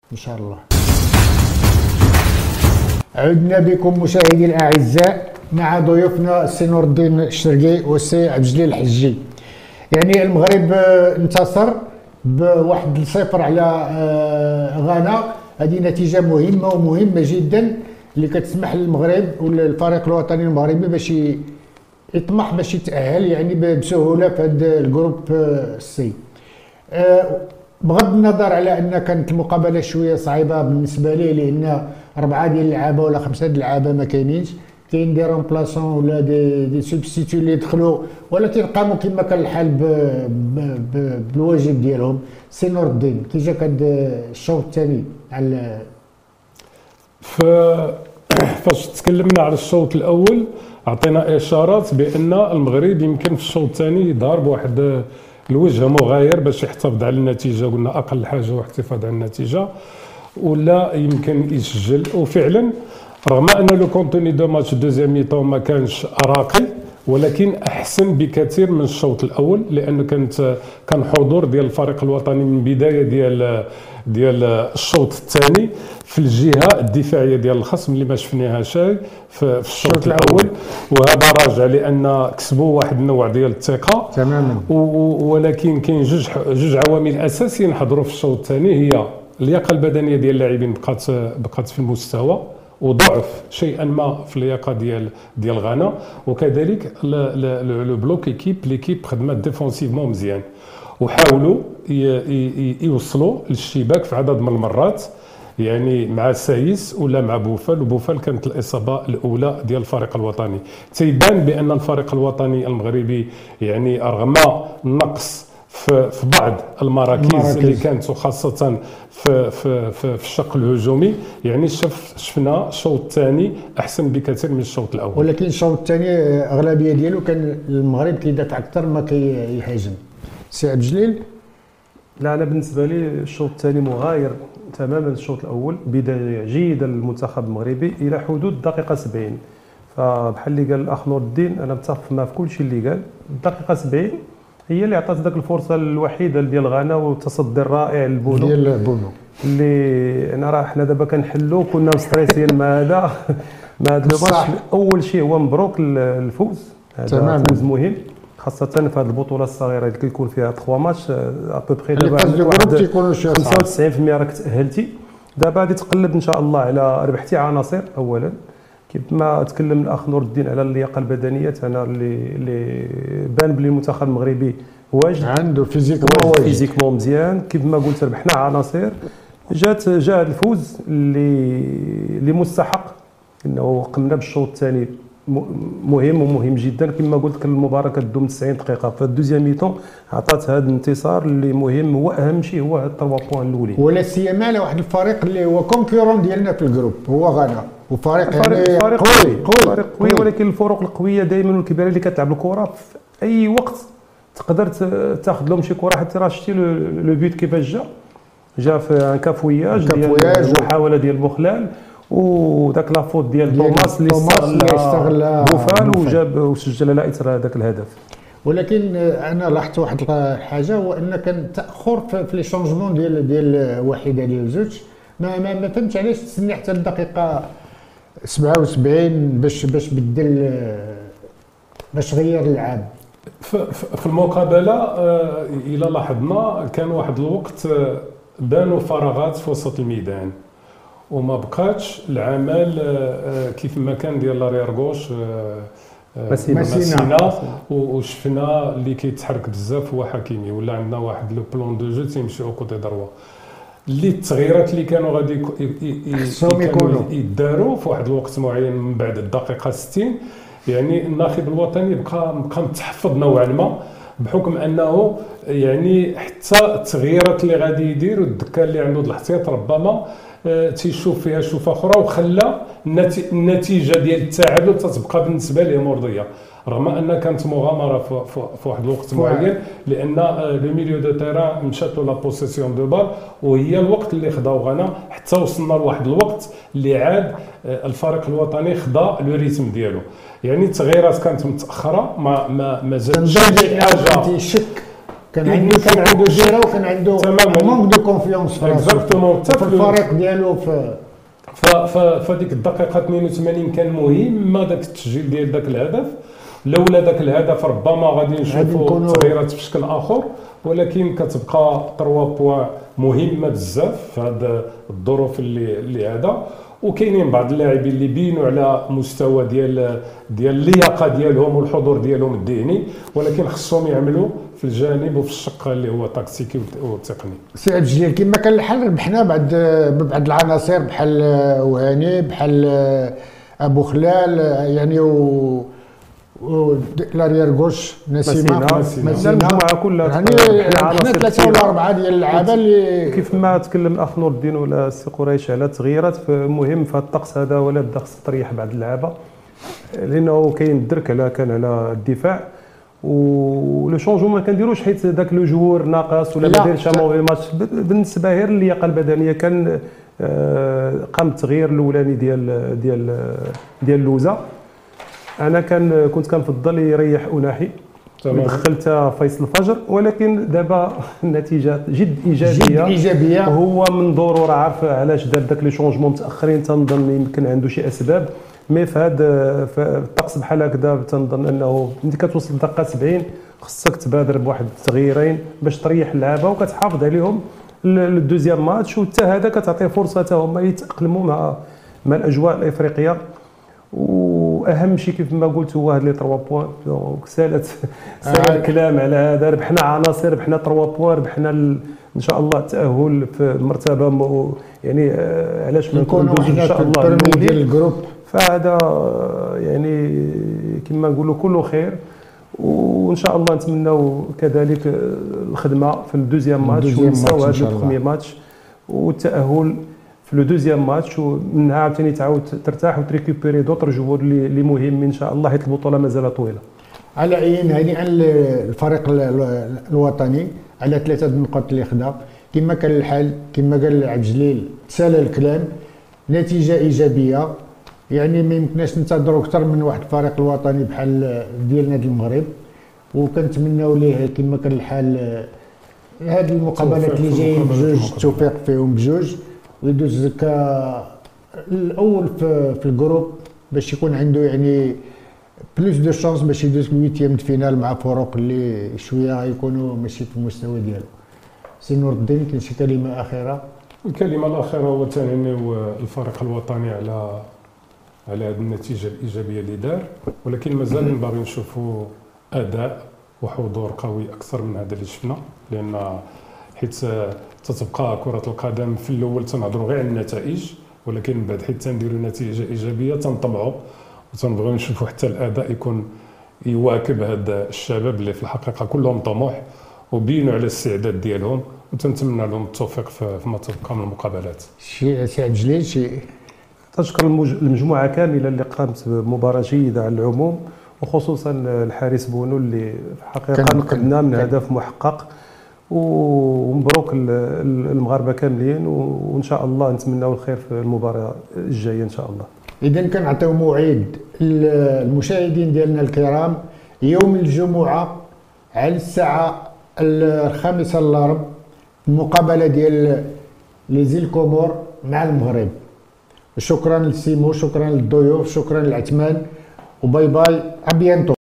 ان شاء الله. عدنا بكم مشاهدي الاعزاء مع ضيوفنا السي نور الدين الشرقي والسي عبد الجليل الحجي. يعني المغرب انتصر بواحد 0 على غانا، هذه نتيجه مهمه ومهمه جدا اللي كتسمح للمغرب والفريق الوطني المغربي باش يطمح باش يتاهل يعني بسهوله في هذا الجروب سي. بغض النظر على ان كانت المقابله شويه صعيبه بالنسبه لي، لان 4 ديال اللعابه ولا 5 ديال اللعابه ما كاينينش، كاين دي رومبلاسون ولا دي سوبستيتيو اللي دخلوا، ولكن قاموا كما كان الحال بالواجب ديالهم. سي نور الدين، كي جاك هذا الشوط الثاني على فاش تكلمنا على الشوط الاول عطينا اشارات بان المغرب يمكن في الشوط الثاني يظهر بواحد الوجه مغاير باش يحتفظ على النتيجه، قلنا اقل حاجه هو احتفاظ على النتيجه ولا يمكن يسجل. وفعلا رغم ان لو كونتوني دو ماتش دوزيام ميطون ما كانش راقي، ولكن احسن بكثير من الشوط الاول، لانه كان حضور ديال الفريق الوطني من بدايه ديال الشوط الثاني في الجهه الدفاعيه ديال الخصم اللي ما شفناها شيء في الشوط الاول، وهذا راجع لان كسبوا واحد النوع ديال الثقه تماما. ولكن كاين جوج عوامل اساسيه نحضروا في الشوط الثاني، هي اللياقه البدنيه ديال اللاعبين بقات في المستوى، وضعف شيئا ما في اللياقه ديال غانا، وكذلك لو بلوك ليكيب خدمات ديفونسيفمون مزيان، وحاولوا يوصلوا للشباك في عدد من المرات، يعني مع سايس ولا مع بوفال، وبوفال كانت الاصابه الاولى ديال الفريق الوطني. تيبان بان الفريق الوطني المغربي يعني رغم النقص في بعض المراكز اللي كانت، وخاصه في الشق الهجومي، يعني شفنا الشوط الثاني احسن بكثير من الشوط الاول. ولكن الشوط الثاني اغلبيه ديالو كان المغرب كيدافع اكثر ما كيهاجم. سي عبد الجليل؟ لا، انا بالنسبه لي الشوط الثاني مغاير تماما الشوط الاول، بدايه جيده للمنتخب المغربي الى حدود الدقيقه 70. فبحال اللي قال الاخ نور الدين انا متفق معاه في كل شيء اللي قال. الدقيقه 70 هي اللي عطات ذاك الفرصه الوحيده ديال غانا، والتصدي الرائع لبونو ديال بونو اللي انا راه حنا دابا كنحلوا كنا مستريسين مع هذا مع هذا الماتش. اول شيء هو مبروك الفوز، هذا فوز مهم خاصه في هذه البطوله الصغيره اللي كيكون فيها 3 ماتش ابوبري. دابا 95% راك تاهلتي، دابا غادي تقلب ان شاء الله على ربحتي عناصر. اولا كما تكلم الاخ نور الدين على اللياقه البدنيه، انا اللي بان بلي المنتخب المغربي واجد، عنده فيزيكمون مزيان. كيف ما قلت ربحنا عناصر، جاء الفوز اللي مستحق، انه قمنا بالشوط الثاني مهم جدا. كما قلت كان المباراه كدوم 90 دقيقه، فالدوزيام ميطون عطات هذا الانتصار اللي مهم، واهم شيء هو هاد 3 بوان الاولين، ولا سيما على واحد الفريق اللي هو كونكورون ديالنا في الجروب هو غانا، وفريق قوي. ولكن الفرق القويه دائما والكبيره اللي كتلعب الكره في اي وقت تقدر تاخذ لهم شي كره. حتى راه شتي لو بيت كيفاش جا في ان كافوياج ديال المحاوله ديال بوخلال، وداك لافوت ديال توماس اللي استغل بوفال وجاب وسجل على اثر هذاك الهدف. ولكن انا لاحظت واحد الحاجه، هو ان كان تاخر في لي شونجمون ديال واحده ديال زوج. ما فهمتش علاش تسني حتى الدقيقه 77 باش بدل، باش غير اللعاب. في المقابله الى لاحظنا كان واحد الوقت بانوا فراغات في وسط الميدان، وما بقاتش العمل كيف ما كان ديال لارير غوش مسينا، وشفنا اللي كيتحرك بزاف هو حكيمي، ولا عندنا واحد لو بلون دو جو تيمشي او كوتي دروا. اللي التغييرات اللي كانوا غادي يداروا في واحد الوقت معين من بعد الدقيقه 60، يعني الناخب الوطني بقى متحفظ نوعا ما، بحكم انه يعني حتى التغييرات اللي غادي يدير والدكه اللي عنده الاحتياط ربما تيشوف فيها شوفه اخرى، وخلى النتيجه ديال التعادل تتبقى بالنسبه ليه مرضيه، رغم ان كانت مغامره في واحد الوقت معين، لان لو ميليو دو تيران مشات لا بوسيسيون دو بال، وهي الوقت اللي خداو غانا حتى وصلنا لواحد الوقت اللي عاد الفريق الوطني خدا لو ريتم ديالو. يعني التغييرات كانت متاخره، ما زالش شي حاجه كان عنده جيرة وكان عنده مونك دو كونفيونس اكزاكتومون في الفريق ديالو فديك الدقيقه 82 كان مهم داك التسجيل ديال داك الهدف. لولا داك الهدف ربما غادي نشوفوا تغييرات في شكل اخر، ولكن كتبقى 3 بوان مهمه بزاف في هذه الظروف اللي هذا. وكاينين بعض اللاعبين اللي بينوا على مستوى ديال اللياقه ديالهم والحضور ديالهم الذهني، ولكن خصهم يعملوا في الجانب وفي الشق اللي هو تكتيكي والتقني. سي عبد الجليل كما كان الحال ربحنا بعض العناصر بحال وهاني بحال ابو خلال يعني لاريير غوش نسيمه المجموعه كلها يعني حنا 3 ولا 4 ديال اللعابه اللي كيف ما تكلم الاخ نور الدين ولا السي قريش على تغييرات مهم في هذا الطقس هذا، ولا بدا خص تريح بعض اللعابه لانه كاين الدرك كان على الدفاع. ولو شونجمون ما كنديروش حيت ذاك لو جوور ناقص ولا ما دايرش موفي ماتش. بالنسبه غير اللياقه البدنيه كان قام التغيير الاولاني ديال لوزا. انا كنت كنفضل يريح اناحي دخلت فيصل الفجر، ولكن دابا النتيجه جد ايجابيه. هو من دوره راه عارف علاش دار داك لي شونجمون متاخرين، تنظن يمكن عنده شي اسباب. مي في هذا الطقس بحال هكذا تنظن انه ملي كتوصل للدقه 70 خصك تبادر بواحد التغييرين باش تريح اللعابه وكتحافظ عليهم للدوزيام ماتش، وحتى هذا كتعطي فرصه حتى هما يتاقلموا مع الاجواء الافريقيه. واهم شيء كيف ما قلت هو هاد لي 3 بوان. سالت الكلام على هذا، ربحنا عناصر، ربحنا 3 بوان، ربحنا ان شاء الله التاهل في مرتبه يعني علاش ما نكونوا ان شاء الله ديال الجروب. فهذا يعني كما نقولوا كله خير، وان شاء الله نتمناو كذلك الخدمه في الدوزيام ماتش ونساو هذا البروميير ماتش والتاهل في لو دوزيام ماتش، ومنها عاوتاني تعاود ترتاح وتريكوبيري دوطر جوور اللي مهم ان شاء الله، حيت البطوله مازال طويله. على اي هنيئا الفريق الوطني على 3 النقاط اللي خدا. كما كان الحال كما قال عبد الجليل تسالى الكلام، نتيجه ايجابيه. يعني ما يمكنناش ننتظروا اكثر من واحد الفريق الوطني بحال ديال نادي المغرب، وكنتمناو ليه كما كان الحال هذه المقابلات اللي جايين بجوج التوفيق فيهم بجوج، ويدوز الاول في الجروب باش يكون عنده يعني بلوس دو شانس باش يدوز الويتيام دو فينال مع فرق اللي شويه يكونوا ماشي في المستوى ديالو. سي نور الدين كاين شي كلمه اخيره؟ الكلمه الاخيره هو تنهنيو الفريق الوطني على هذه النتيجه الايجابيه اللي دار، ولكن مازال باغي نشوفوا اداء وحضور قوي اكثر من هذا اللي شفنا، لان حيت تتبقى كره القدم في الاول تنهضروا غير على النتائج، ولكن من بعد حيت تنديروا نتيجه ايجابيه تنطمعوا وتنبغيو نشوفوا حتى الاداء يكون يواكب هذا الشباب اللي في الحقيقه كلهم طموح وبينوا على الاستعداد ديالهم، وتنتمنى لهم التوفيق فيما تبقى من المقابلات. سي عبد الجليل شي تشكر المجموعه كامله اللي قامت بمباراه جيده على العموم، وخصوصا الحارس بونو اللي في الحقيقه نقدنا من هدف محقق، ومبروك المغاربه كاملين، وان شاء الله نتمناو الخير في المباراه الجايه ان شاء الله. اذا كنعطيو موعد المشاهدين ديالنا الكرام يوم الجمعه على الساعه 5 الا ربع المقابله ديال لي زيل كومور مع المغرب. شكرا لسيمو، شكرا للضيوف، شكرا للعثمان، وباي باي ابيانتو.